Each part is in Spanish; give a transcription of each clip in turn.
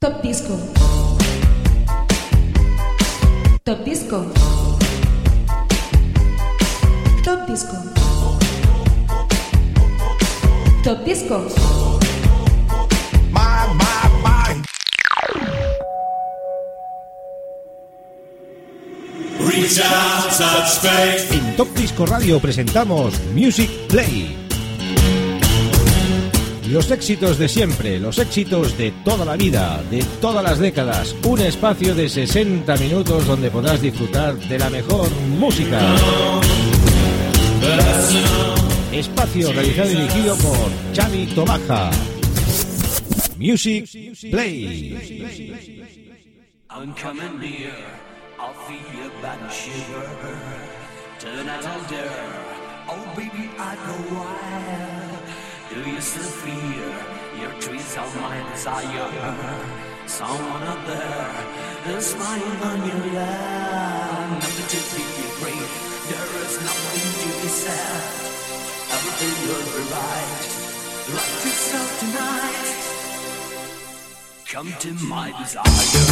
Top Disco. Top Disco. Top Disco. Top Disco. En Top Disco Radio presentamos Music Play. Los éxitos de siempre, los éxitos de toda la vida, de todas las décadas. Un espacio de 60 minutos donde podrás disfrutar de la mejor música. Espacio realizado y dirigido por Xavi Tobaja. Music Play. I'm coming near, I'll feel your body shiver. Turn out all dare, oh baby I go wild. Do you still feel your trees are my desire? Someone out there is smiling on your lap. Nothing to be afraid, there is nothing to be sad. Everything will be right, like yourself tonight. Come to my desire.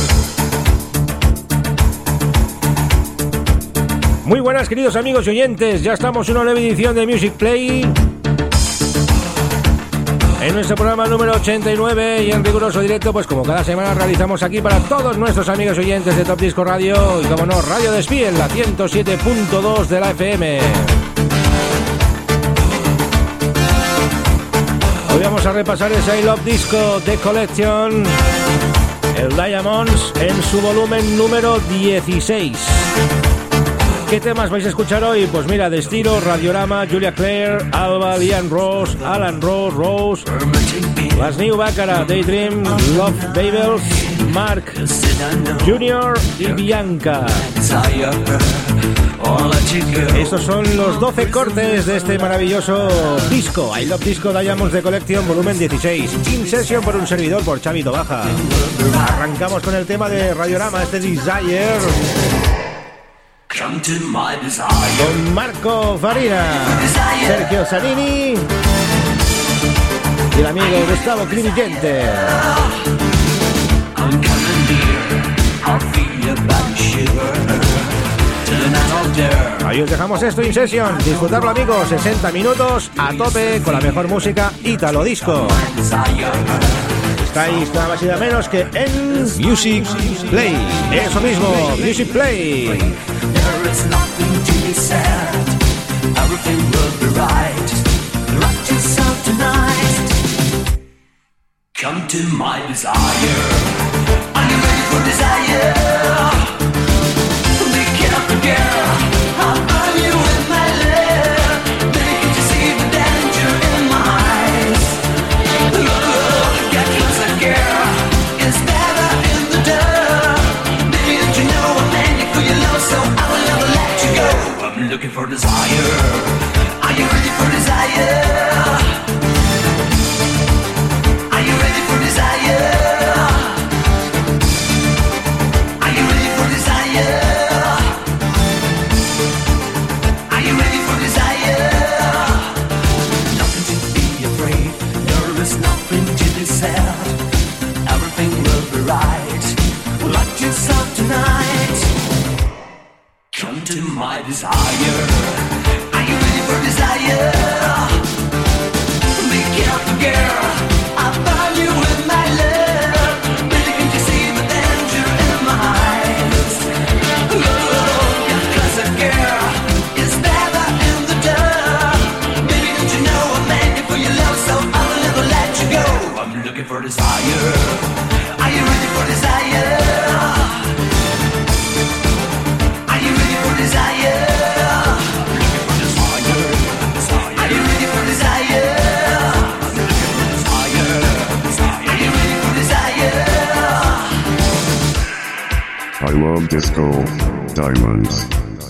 Muy buenas, queridos amigos y oyentes, ya estamos en una nueva edición de Music Play. En nuestro programa número 89 y en riguroso directo, pues como cada semana realizamos aquí para todos nuestros amigos y oyentes de Top Disco Radio y como no, Radio Despí en la 107.2 de la FM. Hoy vamos a repasar ese I Love Disco The Collection, el Diamonds, en su volumen número 16. ¿Qué temas vais a escuchar hoy? Pues mira, de estilo Radiorama, Julia Claire, Alba, Liam Ross, Alan Ross, Rose, Las New Baccara, Daydream, Love Babels, Mark Junior y Bianca. Estos son los 12 cortes de este maravilloso disco, I Love Disco Diamonds de Collection, volumen 16. In session por un servidor, por Xavi Tobaja. Arrancamos con el tema de Radiorama, este Desire. Come to my desire. Con Marco Farina, Sergio Zanini y el amigo Gustavo Crivillente. Ahí os dejamos esto in session. Disfrutarlo, amigos, 60 minutos a tope con la mejor música Italo Disco. Estáis nada más y nada menos que en Music Play. Eso mismo, Music Play. There is nothing to be said. Everything will be right. Rock yourself tonight. Come to my desire. Are you ready for desire? Pick it up again. I'll burn you with my love. Baby, can't you see the danger in my eyes? Look, get closer, girl. It's better in the dark. Baby, don't you know I'm ready for your love, so I will never let you go. I'm looking for desire. Are you ready for desire? Are you ready for desire? Are you ready for desire? Are you ready for desire? Nothing to be afraid. There is nothing to be said. Everything will be right. Lock yourself tonight. Come to my desire. Are you ready for desire? Make it up, girl. I'll burn you with my love. Baby, can't you see the danger in my eyes? Oh, get closer, girl. It's better in the dark. Baby, don't you know I'm ready for your love, so I will never let you go. I'm looking for desire. Are you ready for desire? Are you ready for desire? Are you ready for desire? Are you ready for desire? I love disco diamonds.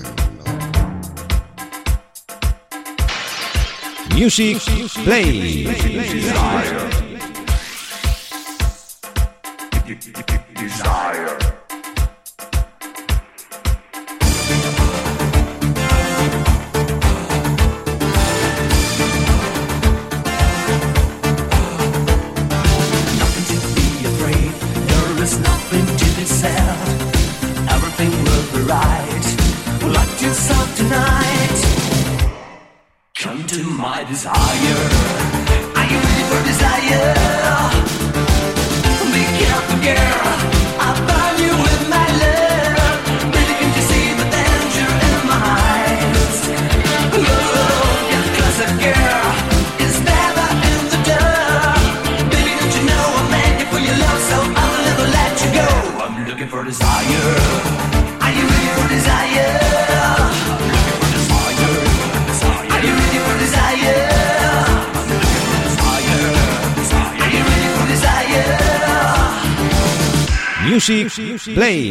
Music Play. Desire. Nothing to be afraid. There there's nothing to be said. Everything will be right. Lock yourself tonight. Come to my desire. Are you ready for desire? Be careful, girl. I'll burn you with my love. Baby, can't you see the danger in my eyes? Oh, get closer, girl. It's never in the door. Baby, don't you know I'm ready for your love, so I will never let you go. I'm looking for desire. Are you ready for desire? I'm looking for desire. Are you ready for desire? I'm looking for desire. Are you ready for desire? Music Play.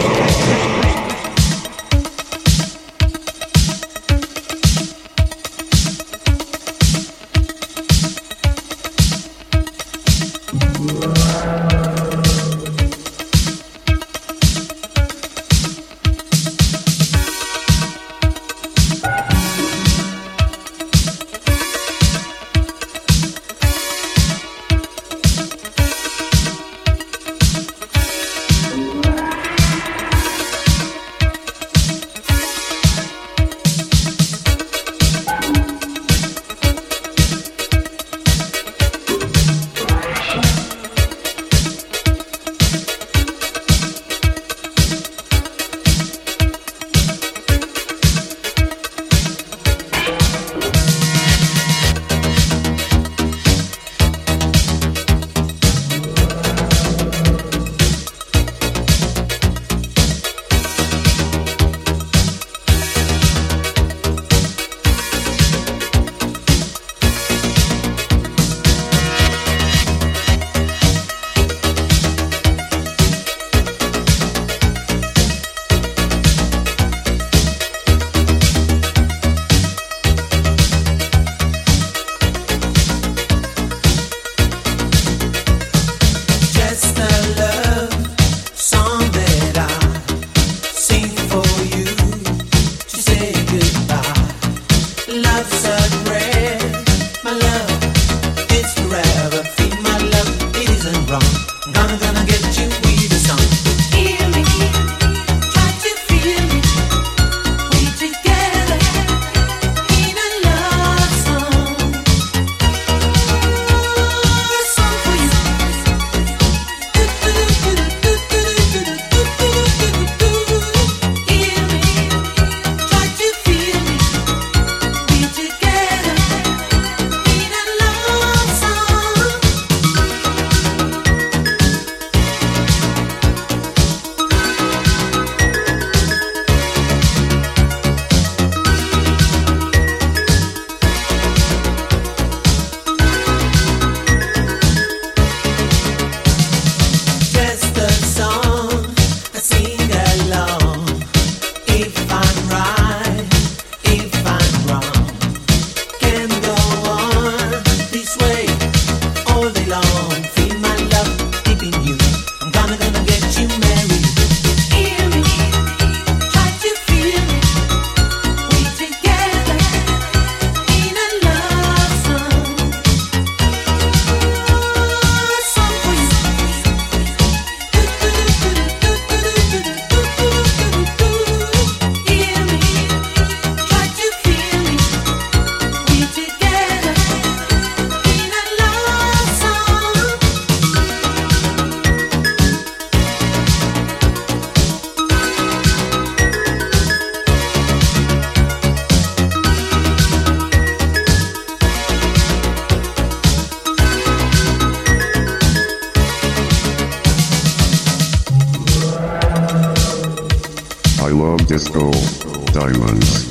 Disco Diamonds.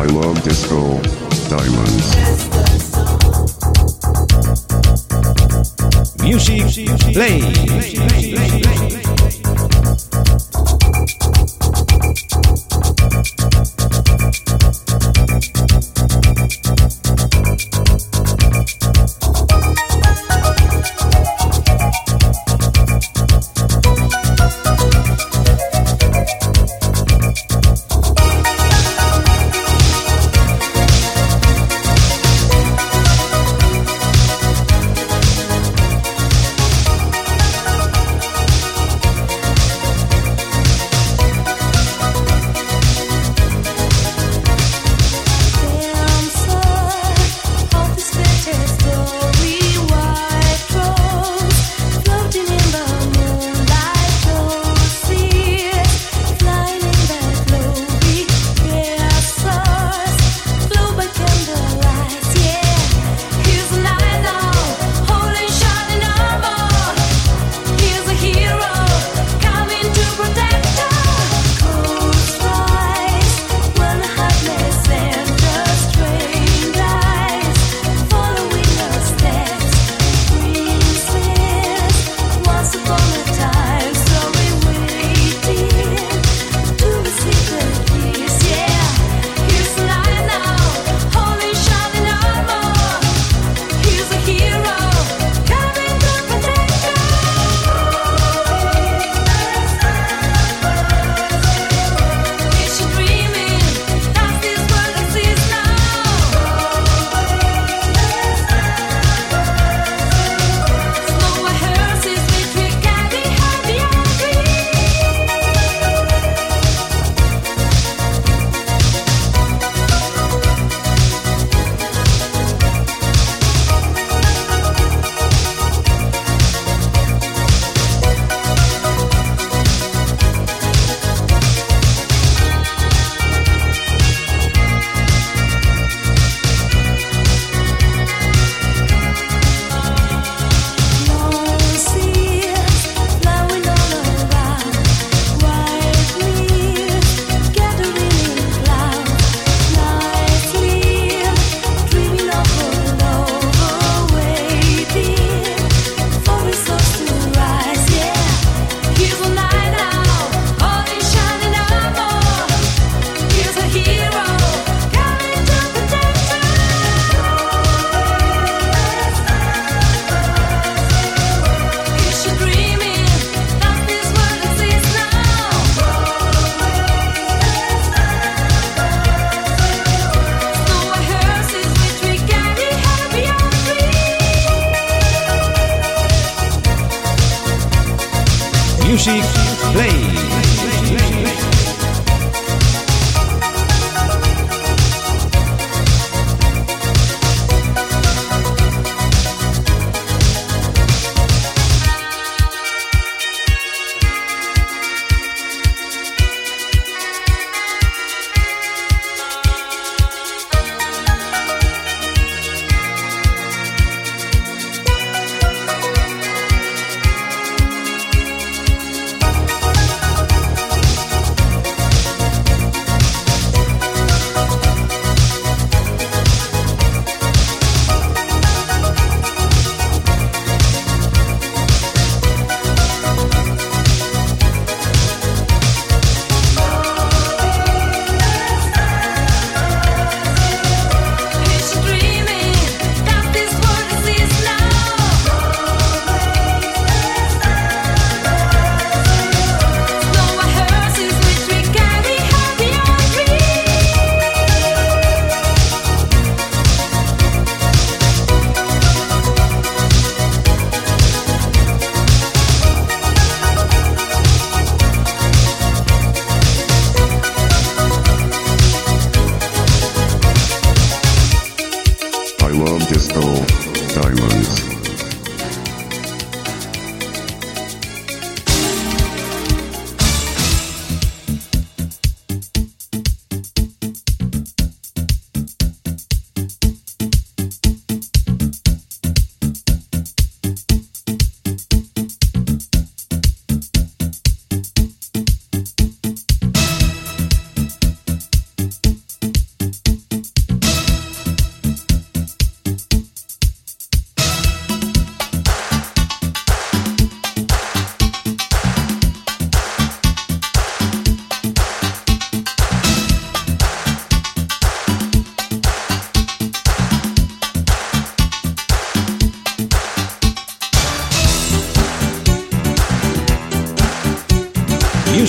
I love disco diamonds. Music Play. Music Play.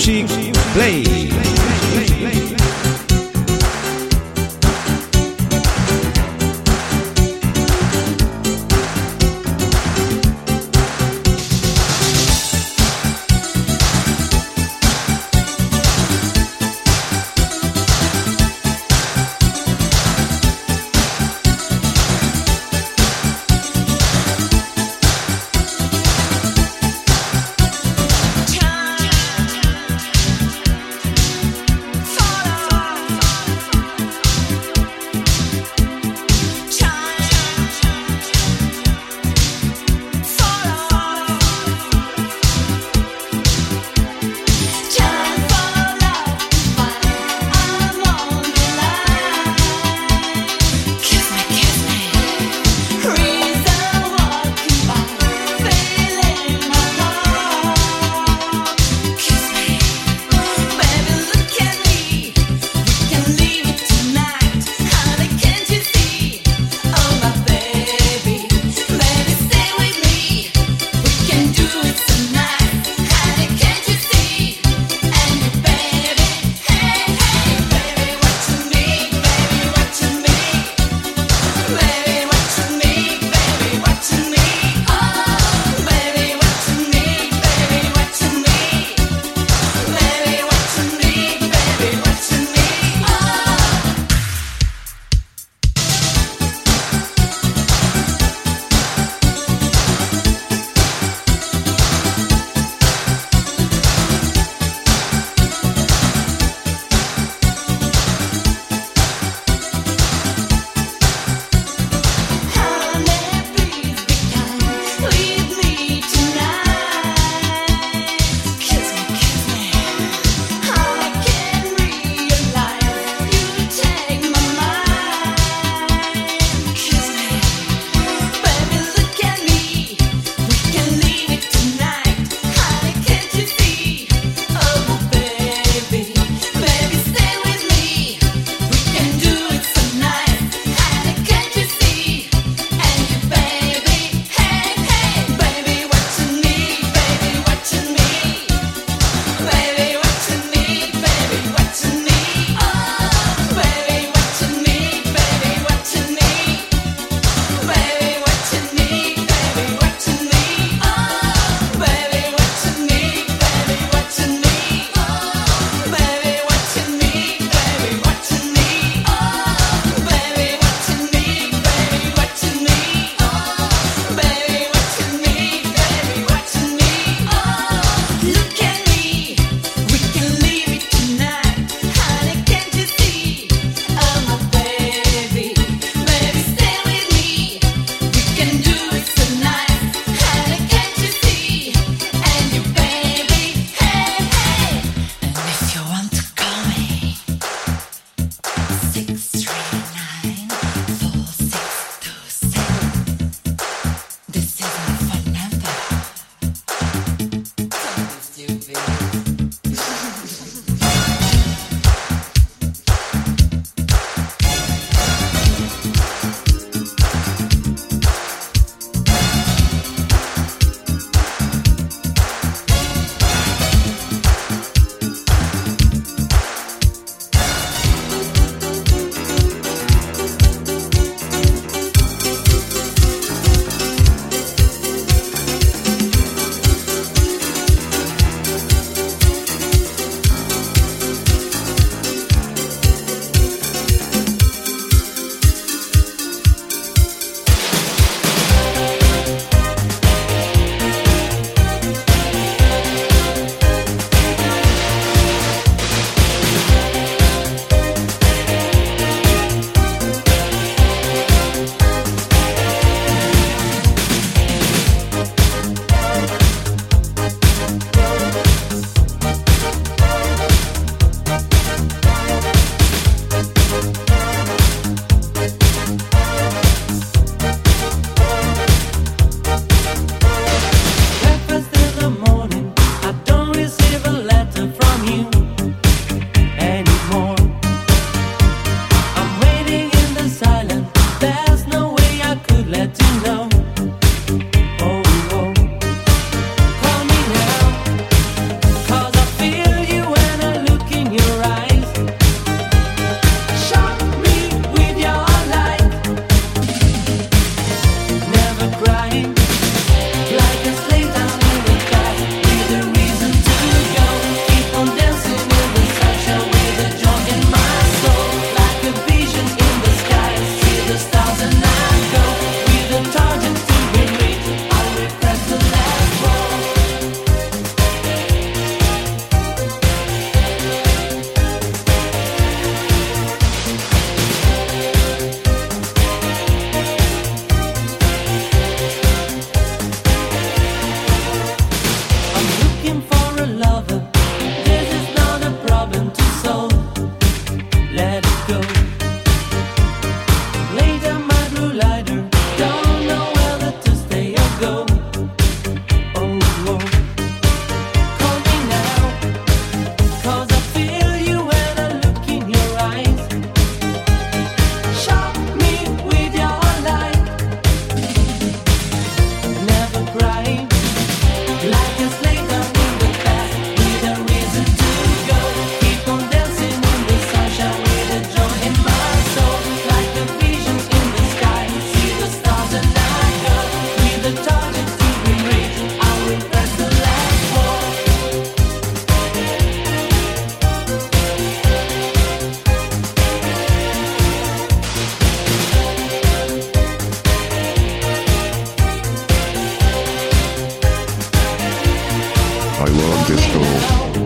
Music Play.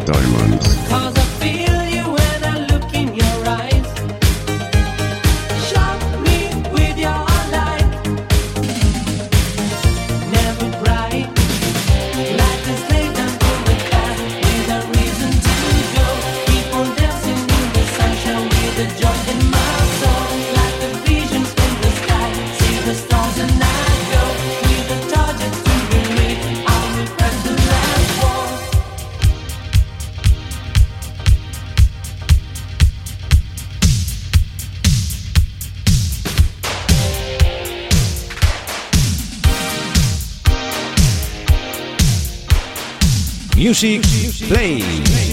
Diamonds. Cause I feel you when I look in your eyes. Shock me with your light. Never bright. Light is laid down on the path with a reason to go. Keep on dancing in the sunshine with the joy in my soul. Like the visions in the sky. See the stars and I go. With the target to be made. I will press the last wall. Music Play.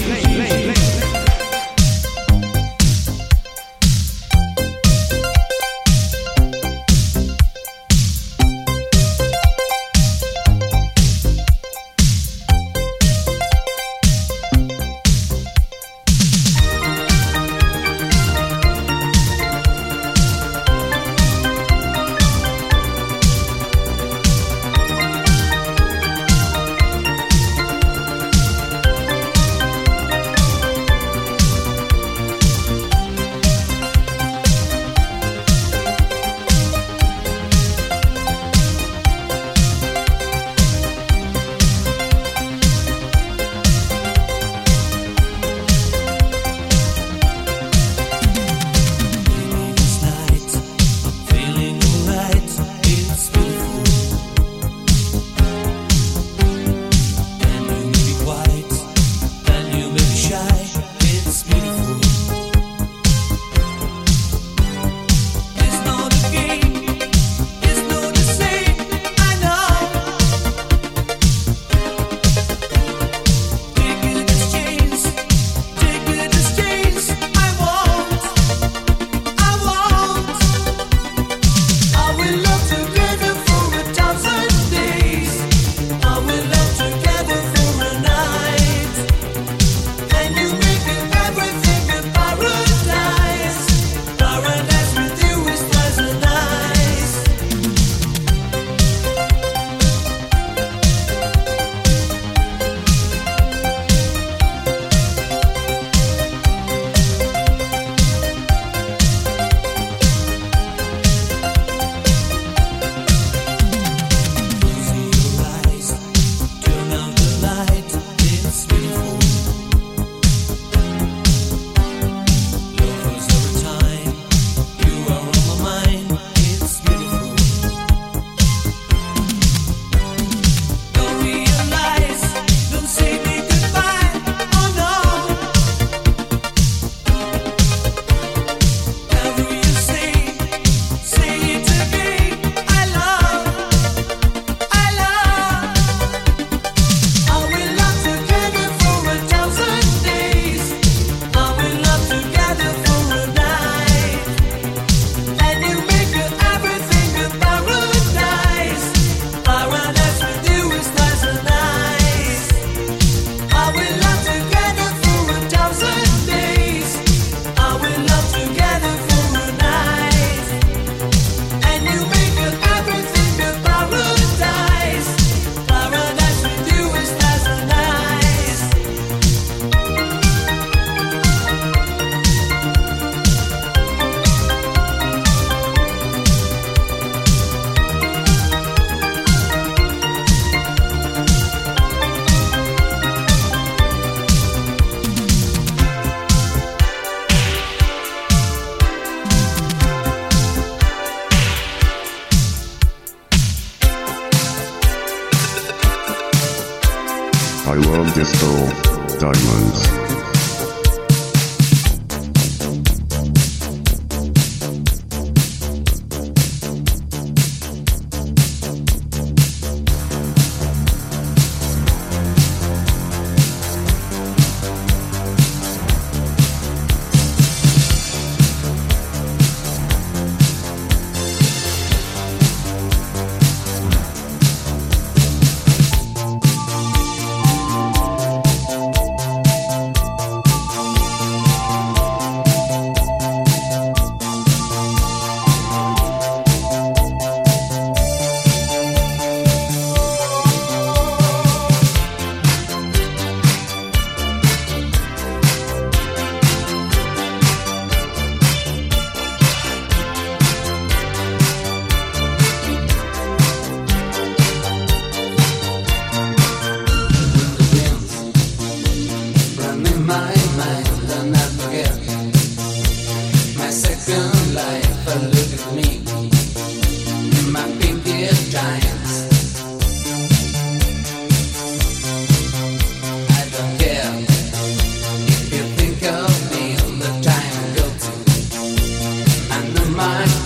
I love disco diamonds.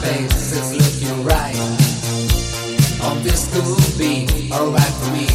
face is looking right. Oh, this could be alright for me.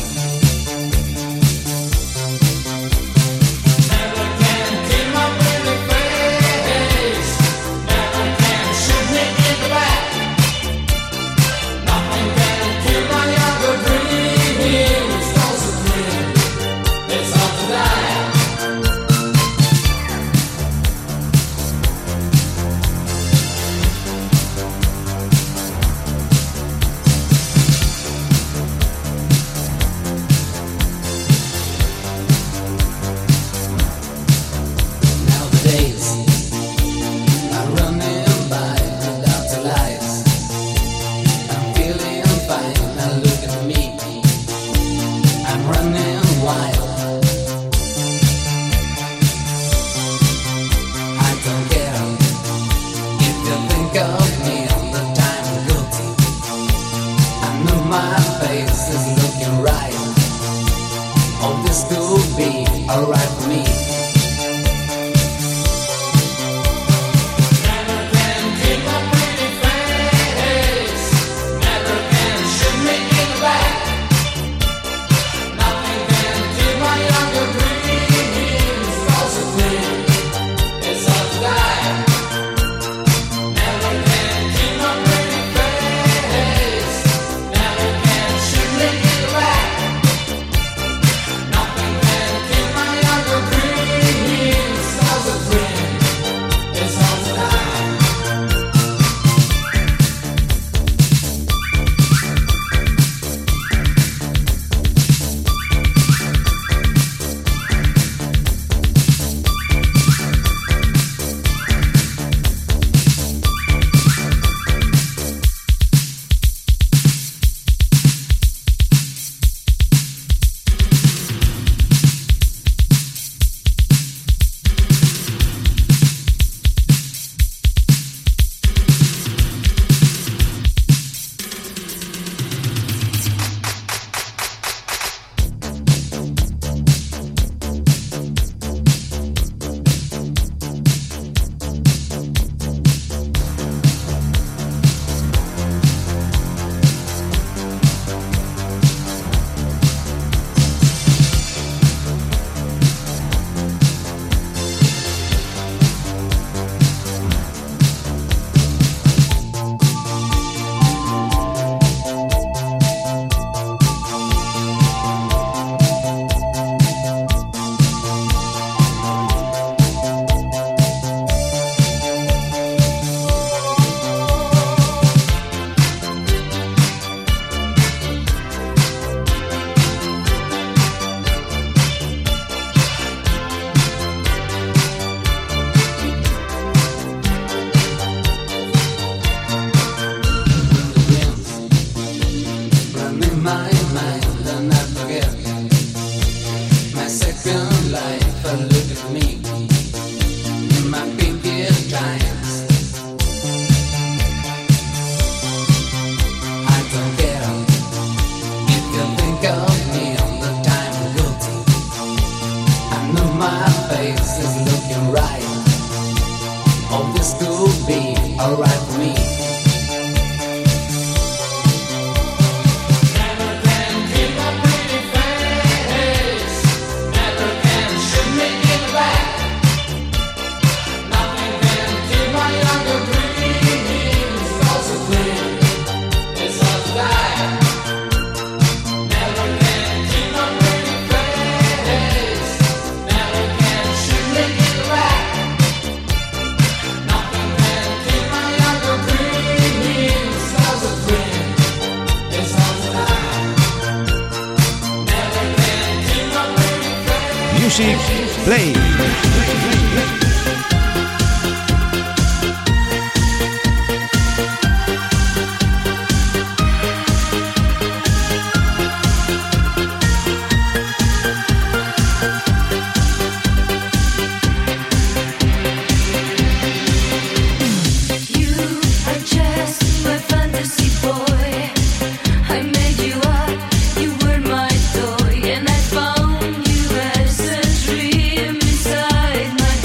Music Play. My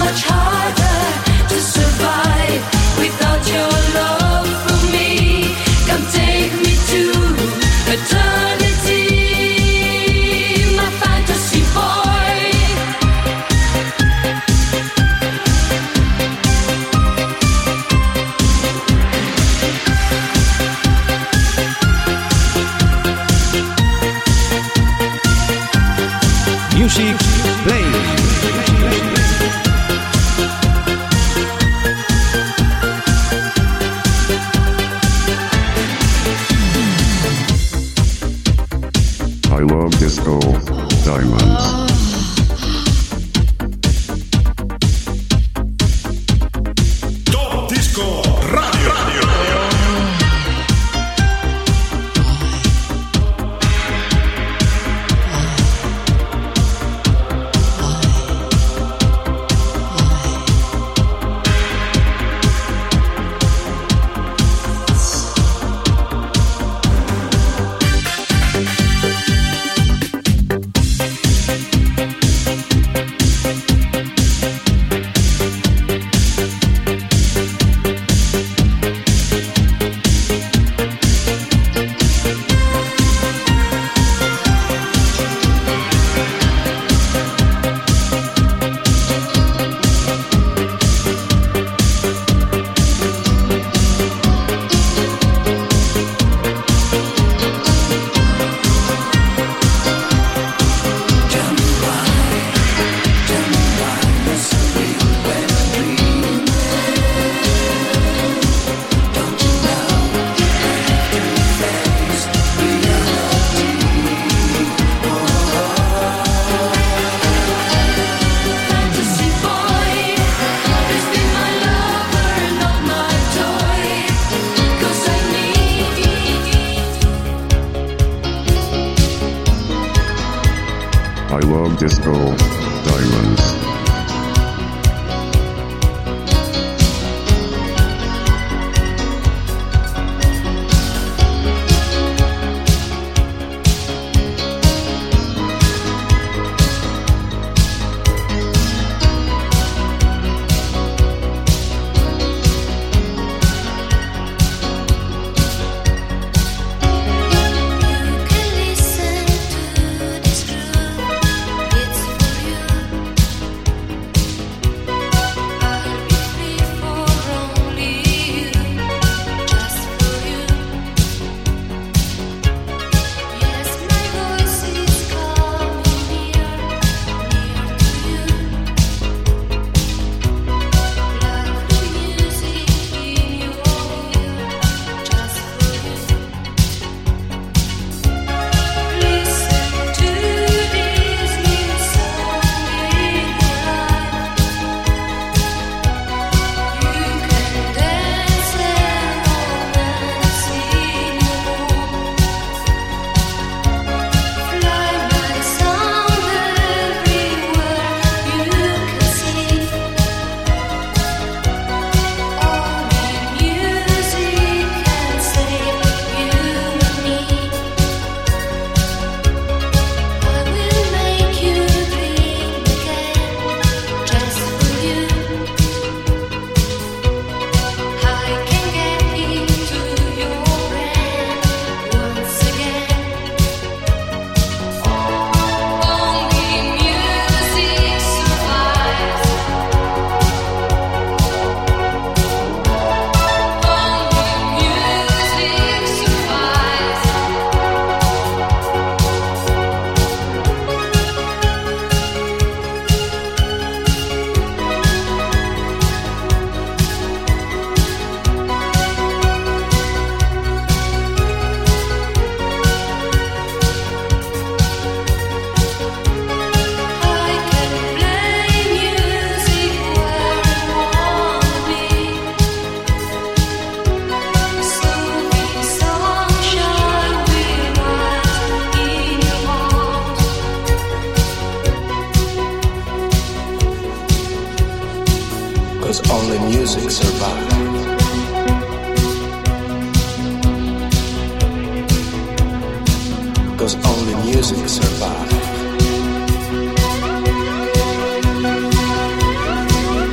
much harder to survive without your love for me. Come take me to eternity, my fantasy boy. Music Play. I love disco diamonds. Top Disco Radio. I love disco diamonds. music survive. Cause only music survive.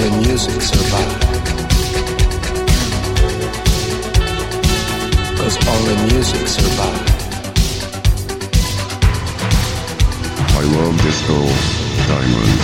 only music survives. 'Cause only music survives. I love disco diamonds.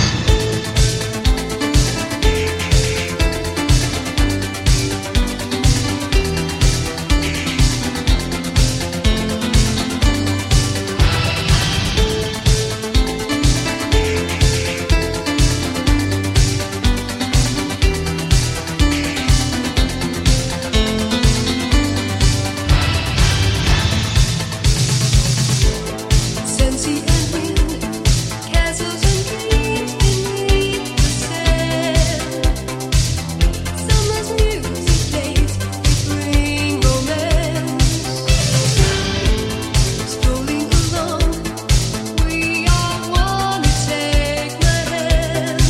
Sensi and wind, castles and dreams beneath the sand. Summer's music plays, we bring romance. Strolling along, we are one to take my hand.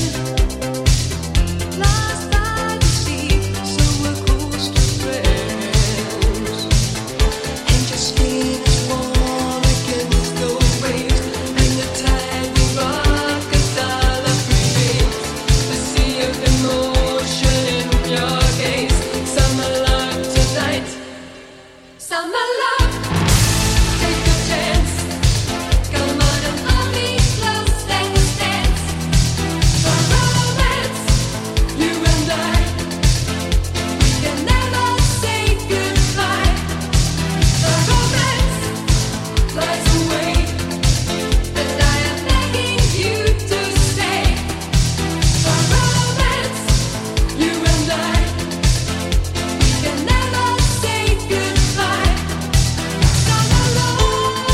Lost by the sea, so we're close to friends. And your skin is warm against the waves, and the tide will rock us all up remains. The sea of emotion in your gaze. Summer love tonight, summer love. Take a chance, come on and hold me close, let's dance. For romance, you and I, we can never say goodbye. For romance flies away, but I am begging you to stay. For romance, you and I, we can never say goodbye. Summer love.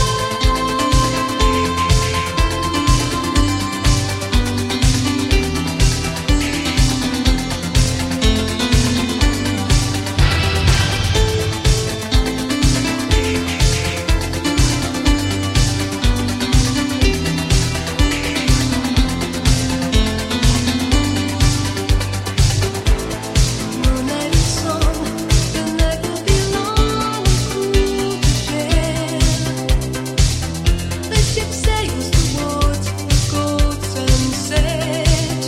Moonlight and song, the night will be long and cool to share. The ship sails towards the cold sunset.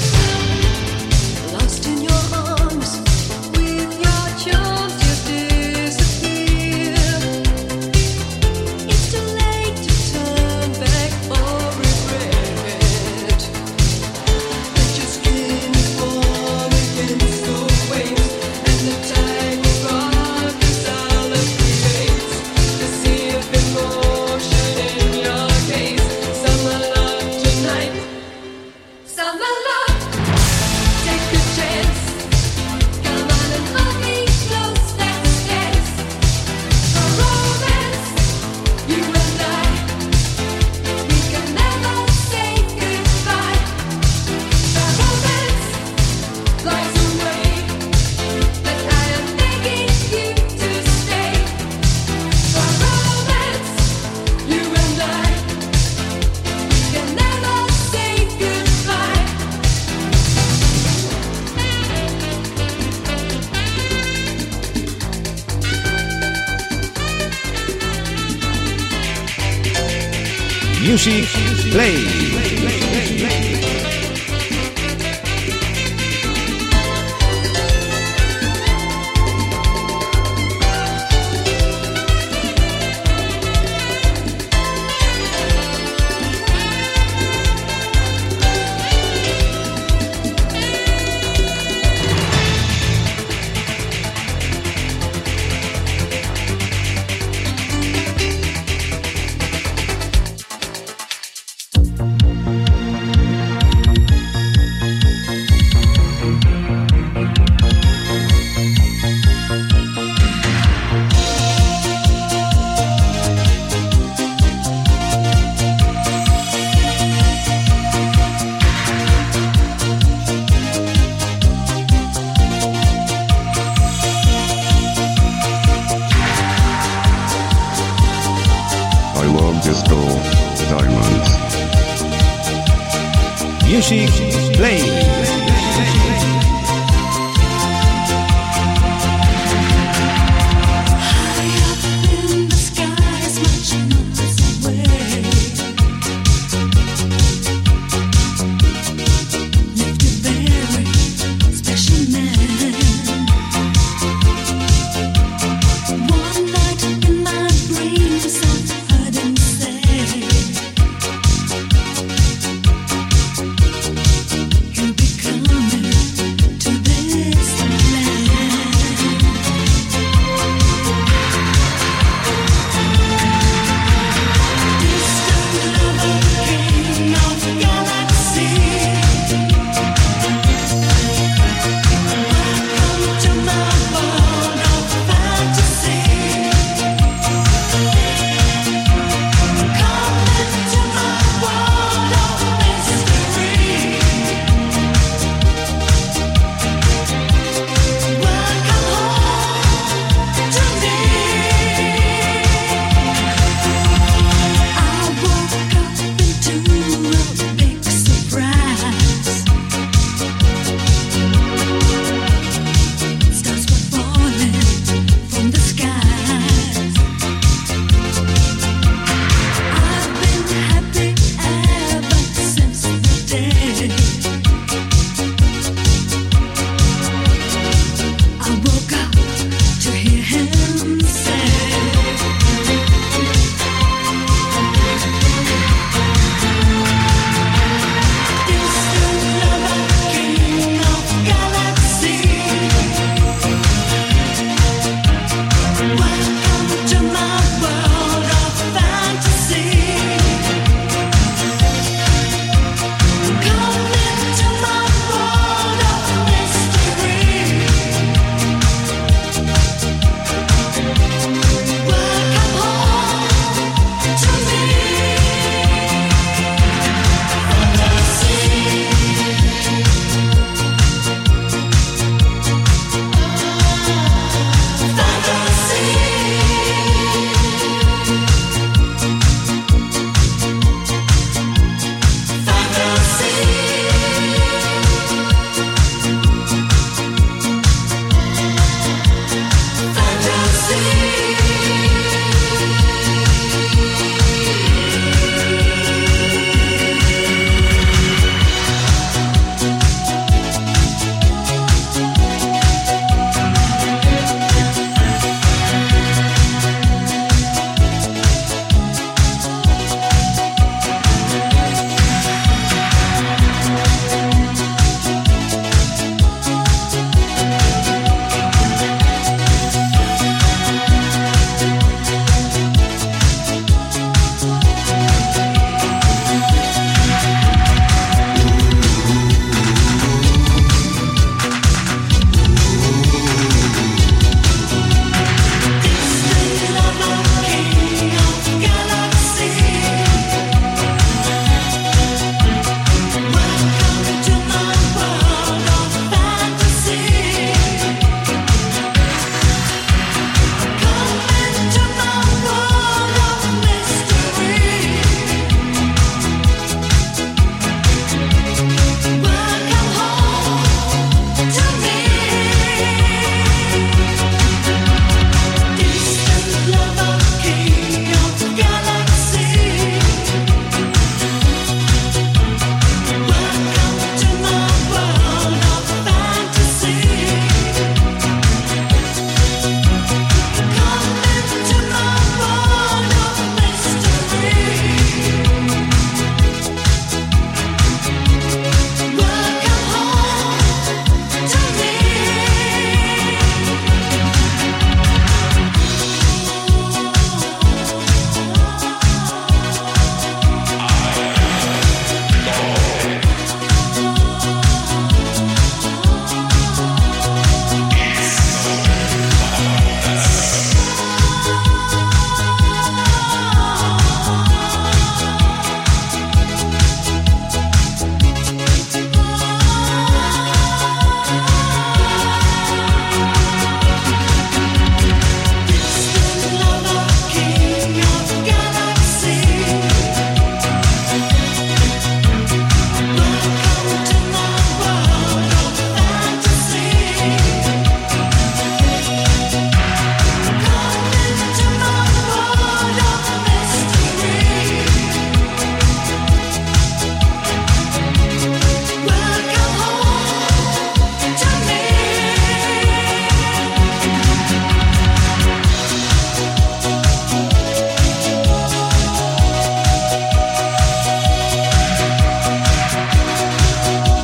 Lost in your arms, with your charms you disappear. It's too late to turn back or regret. But your skin is warm against the waves, and the tide will rock us all up remains. The sea of emotion in your gaze. Summer love tonight, summer love. Take a chance, come on and hold me close, let's dance. For romance, you and I, we can never say goodbye. For romance flies away, but I am begging you to stay. For romance, you and I, we can never say goodbye. Music Play. I love disco diamonds. Music Play. In the sky, much miles away. Lifted there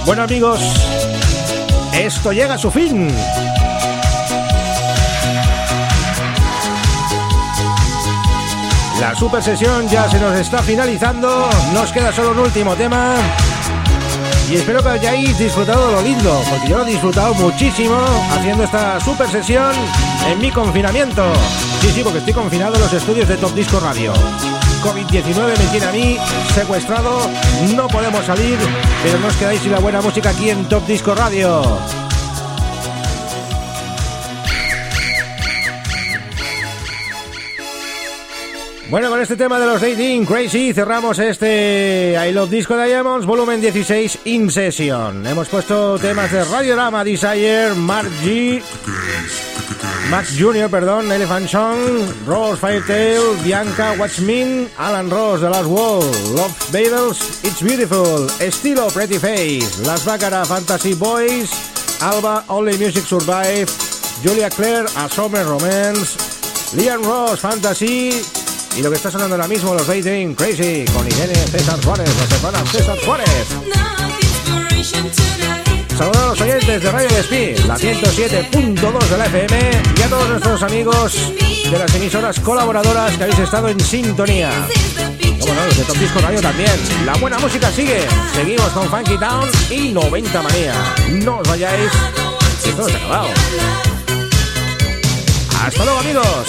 Bueno, amigos, esto llega a su fin. La super sesión ya se nos está finalizando. Nos queda solo un último tema. Y espero que hayáis disfrutado de lo lindo, porque yo lo he disfrutado muchísimo haciendo esta super sesión en mi confinamiento. Sí, porque estoy confinado en los estudios de Top Disco Radio. COVID-19 me tiene a mí secuestrado, no podemos salir, pero no os quedáis sin la buena música aquí en Top Disco Radio. Bueno, con este tema de los Dating Crazy cerramos este I Love Disco Diamonds volumen 16 In Session. Hemos puesto temas de Radiorama, Desire, Max Jr., Elephant Song, Rose Firetail, Bianca, Watchmen, Alan Ross, The Last Wall, Love Babels, It's Beautiful, Estilo, Pretty Face, Las Baccarat, Fantasy Boys, Alba, Only Music Survive, Julia Claire, A Summer Romance, Liam Ross, Fantasy. Y lo que está sonando ahora mismo, los Dating Crazy, con Irene César Suárez, los hermanos César Suárez. Saludos a los oyentes de Radio Despí, la 107.2 de la FM, y a todos nuestros amigos de las emisoras colaboradoras que habéis estado en sintonía. Bueno, los de Top Disco Radio también. La buena música sigue. Seguimos con Funky Town y 90 Manía. No os vayáis, esto no se ha acabado. Hasta luego, amigos.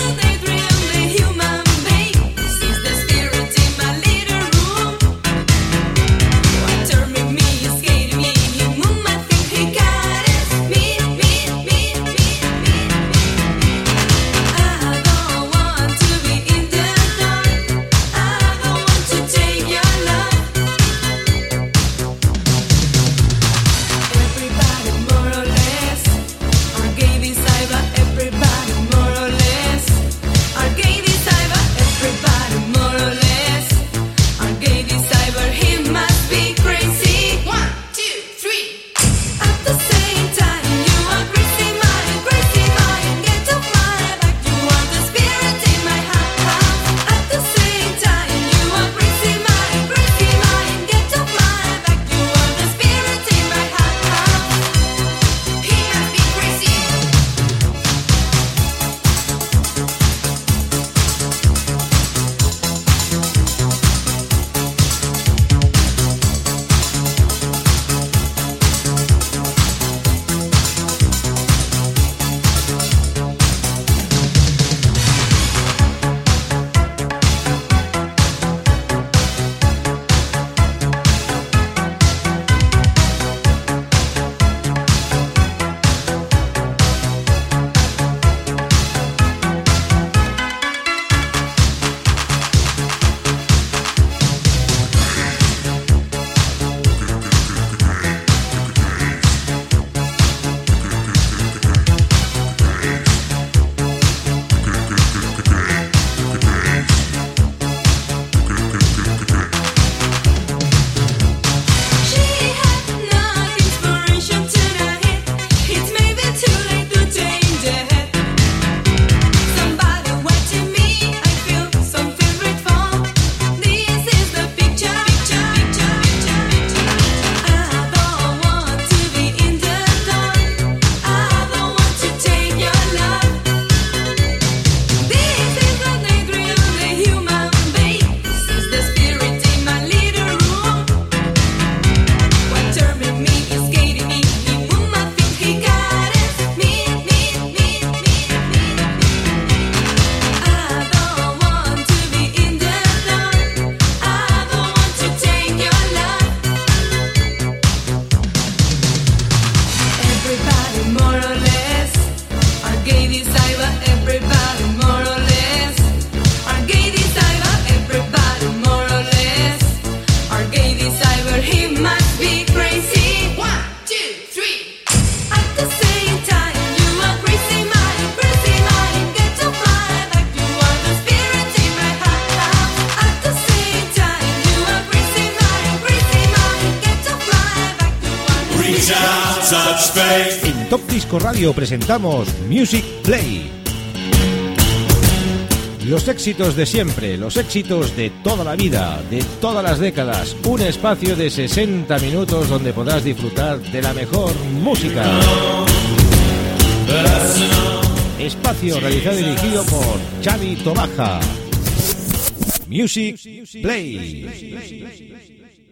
En Top Disco Radio presentamos Music Play. los éxitos de siempre, los éxitos de toda la vida, de todas las décadas. Un espacio de 60 minutos donde podrás disfrutar de la mejor música. Espacio realizado y dirigido por Xavi Tobaja. Music Play.